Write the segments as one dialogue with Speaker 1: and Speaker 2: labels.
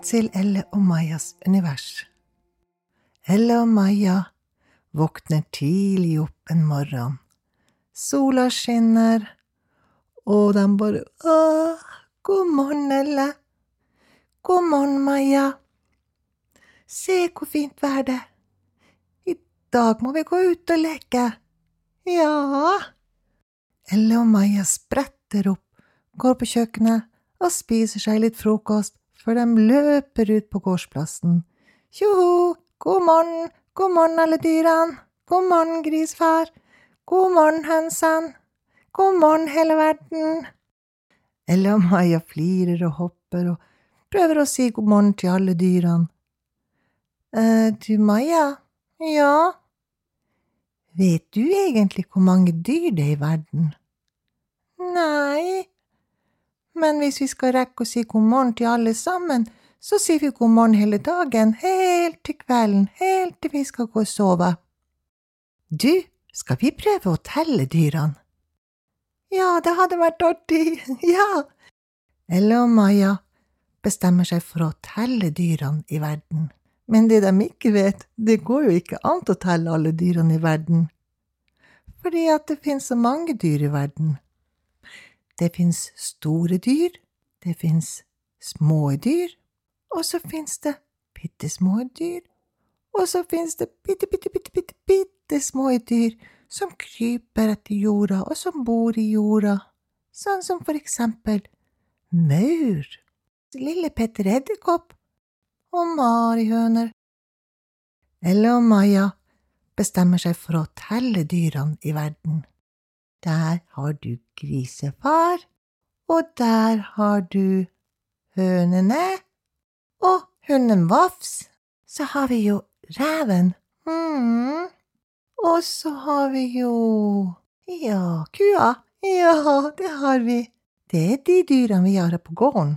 Speaker 1: til Elle og Majas univers. Elle og Maja våkner tidlig opp en morgen. Sola skinner, og de bare god morgen, Elle. God morgen, Maja. Se hvor fint vær det. I dag må vi gå ut og leke. Ja. Elle og Maja spretter opp, går på kjøkkenet og spiser seg litt frokost før de løper ut på gårdsplassen. Tjoho, god morgen alle dyrene. God morgen, grisfar. God morgen, hønsene. God morgen, hele verden. Elle og Maja flirer og hopper og prøver å si god morgen til alle dyrene. Du, Maja? Ja? Vet du egentlig hvor mange dyr det er i verden? Nei, men hvis vi skal rekke å si god morgen til alle sammen, så sier vi god morgen hele dagen, helt til kvelden, helt til vi skal gå og sove. Du, skal vi prøve å telle dyrene? Ja, det hadde vært artig, ja. Elle og Maja bestemmer seg for å telle dyrene i verden. Men det de ikke vet, det går jo ikke an å telle alle dyrene i verden. Fordi at det finnes så mange dyr i verden. Det finnes store dyr, det finnes små dyr, og så finnes det bittesmå dyr, og så finnes det bittesmå dyr som kryper etter jorda og som bor i jorda, sånn som for eksempel maur, lille Petter Edderkopp og marihøner. Elle og Maja bestemmer seg for å telle dyrene i verden. Der har du grisefar, og der har du hønene, og hunden Vafs. Så har vi jo reven. Og så har vi jo, kua. Ja, det har vi. Det er de dyrene vi har her på gården.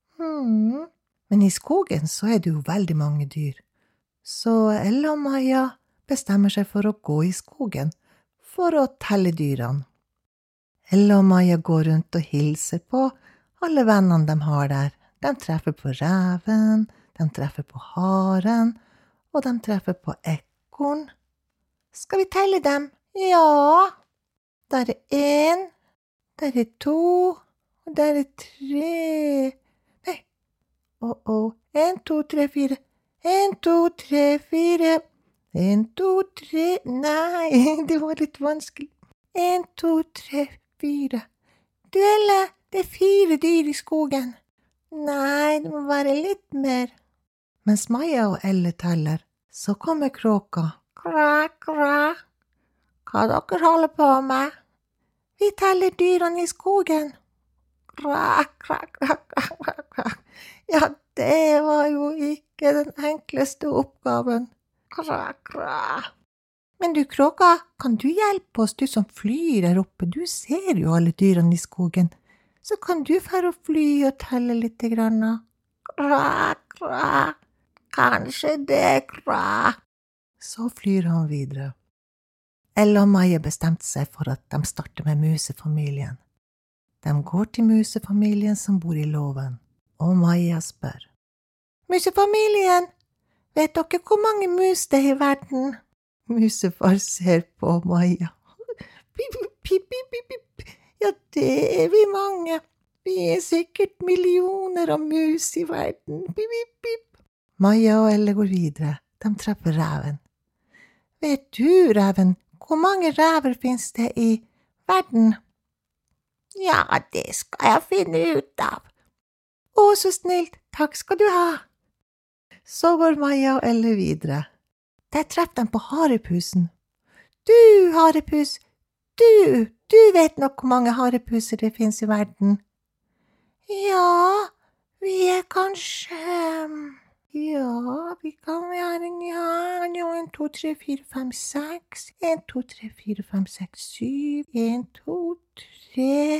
Speaker 1: Men i skogen så er det jo veldig mange dyr. Så Elle og Maja bestemmer seg for å gå i skogen for å telle dyrene. Elle og Maja går rundt og hilser på alle vennene de har der. De treffer på reven, de treffer på haren, og de treffer på ekorn. Skal vi telle dem? Ja. Der er 1, der er 2, og der er 3. Nei. 1, 2, 3, 4. 1, 2, 3, 4. 1, 2, 3. Nei, det var litt vanskelig. 1, 2, 3, 4. Du, Elle, det er 4 dyr i skogen. Nei, det må være litt mer. Mens Maja og Elle teller, så kommer kråka. Kra, kra. Hva dere holder på med? Vi teller dyrene i skogen. Kra, kra, kra, kra, kra. Ja, det var jo ikke den enkleste oppgaven. Kra, kra. Men du, kråka, kan du hjelpe oss, du som flyr der oppe? Du ser jo alle dyrene i skogen. Så kan du fære og fly og telle litt grann. Kra, kra. Kanskje det, kra. Så flyr han videre. Elle og Maja bestemte seg for at de starter med musefamilien. De går til musefamilien som bor i låven, og Maja spør. Musefamilien, vet dere hvor mange mus det er i verden? Musefar ser på Maja. Pip, pip, pip, pip, pip. Ja, det er vi mange. Vi er sikkert millioner av mus i verden. Pip, pip, pip. Maja og Elle går videre. De treffer reven. Vet du, reven, hvor mange rever finnes det i verden? Ja, det skal jeg finne ut av. Å, så snilt. Takk skal du ha. Så går Maja og Elle videre. Der treffer de på harepusen. Du, harepus, du vet nok hvor mange harepuser det finnes i verden. Ja, vi er kanskje, vi kan være, 1, 2, 3, 4, 5, 6, 1, 2, 3, 4, 5, 6, 7, 1, 2, 3,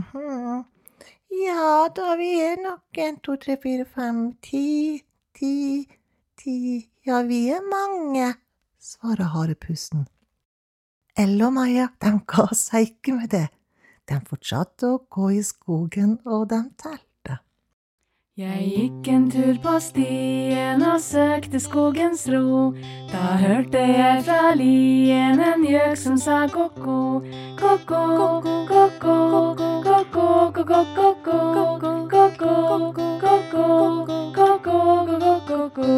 Speaker 1: ja, da vi er nok 1, 2, 3, 4, 5, 10, ja, vi er mange, svarer harepusen. Elle og Maja, de ga seg ikke med det. De fortsatte å gå i skogen, og de telte.
Speaker 2: Jeg gikk en tur på stien og søkte skogens ro. Da hørte jeg fra lien en gjøk som sa ko-ko, ko-ko, ko-ko, ko-ko, ko-ko, ko-ko, ko-ko, ko-ko.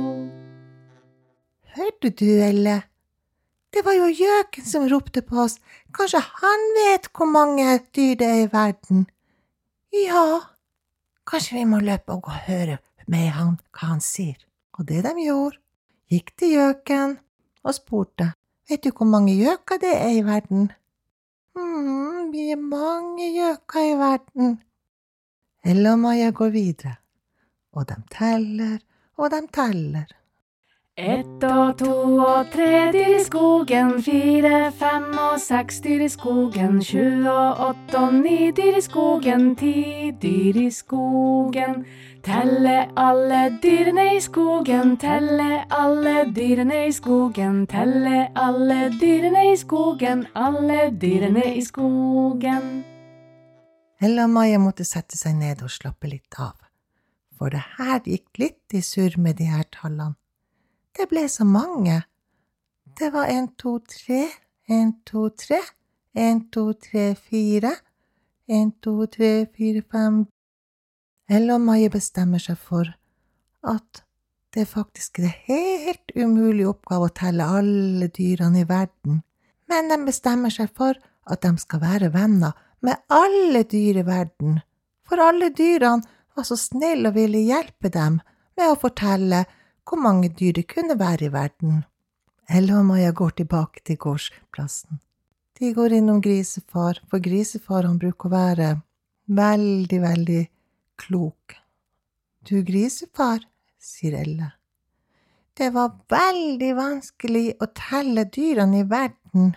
Speaker 1: Hørte du, Elle? Det var jo gjøken som ropte på oss. Kanskje han vet hvor mange dyr det er i verden? Ja. Kanskje vi må løpe og gå og høre med han hva han sier. Og det de gjorde, gikk til gjøken og spurte, vet du hvor mange gjøker det er i verden? Vi er mange gjøker i verden. Elle og Maja går videre, og de teller, og de teller.
Speaker 2: 1 og 2 og 3 dyr i skogen, 4, 5 og 6 dyr i skogen, 7 og 8 og 9 dyr i skogen, 10 dyr i skogen. Telle alle dyrene i skogen, telle alle dyrene i skogen, telle alle dyrene i skogen, alle dyrene i skogen.
Speaker 1: Elle og Maja måtte sette seg ned og slappe litt av, for det her gikk litt i surr med de her tallene. Det ble så mange. Det var 1, 2, 3, 1, 2, 3, 1, 2, 3, 4, 1, 2, 3, 4, 5. Elle og Maja bestemmer seg for at det faktisk er helt umulig oppgave å telle alle dyrene i verden, men de bestemmer seg for at de skal være venner med alle dyr i verden, for alle dyrene var så snille og ville hjelpe dem med å fortelle hvor mange dyr det kunne være i verden. Elle og Maja går tilbake til gårdsplassen. De går innom grisefar, for grisefar han bruker å være veldig, veldig klok. Du grisefar, sier Elle. Det var veldig vanskelig å telle dyrene i verden.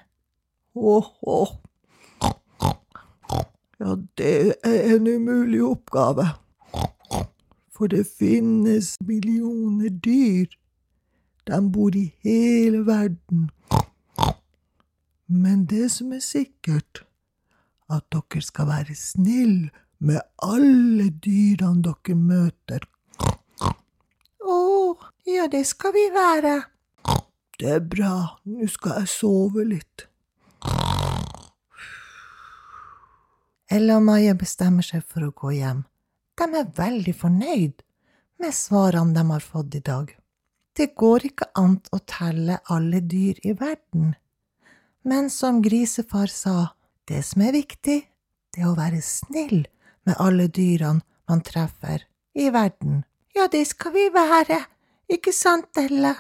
Speaker 1: Ja, det er en umulig oppgave. For det finnes millioner dyr. De bor i hele verden. Men det som er sikkert, at dere skal være snill med alle dyrene dere møter. Ja, det skal vi være. Det er bra, nå skal jeg sove litt. Elle og Maja bestemmer seg for å gå hjem. De er veldig fornøyd med svarene de har fått i dag. Det går ikke an å telle alle dyr i verden. Men som grisefar sa, det som er viktig, det er å være snill med alle dyrene man treffer i verden. Ja, det skal vi være, ikke sant, Elle?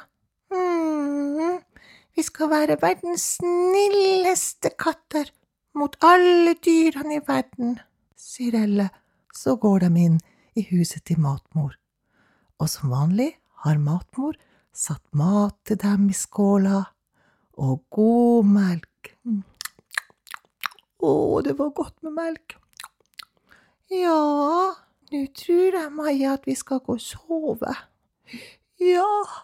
Speaker 1: Vi skal være verdens snilleste katter mot alle dyrene i verden, sier Elle. Så går de inn i huset til matmor, og som vanlig har matmor satt mat til dem i skåla, og god melk. Det var godt med melk. Ja, nå tror jeg, Maja, at vi skal gå og sove. Ja,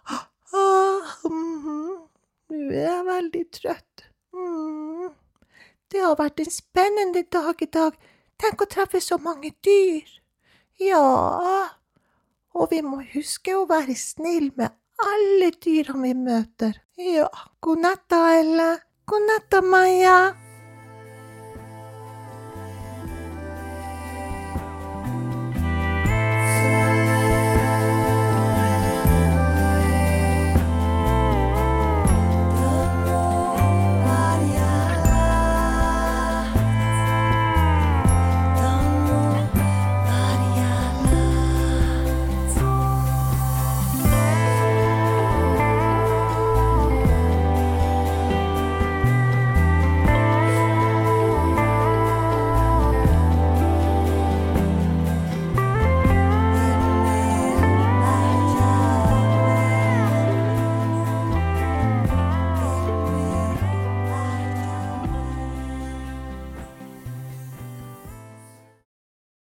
Speaker 1: nå er jeg veldig trøtt. Det har vært en spennende dag i dag. Tenk å treffe så mange dyr. Ja, og vi må huske å være snill med alle dyrene vi møter. Ja, god natt da, Elle. God natt da, Maja.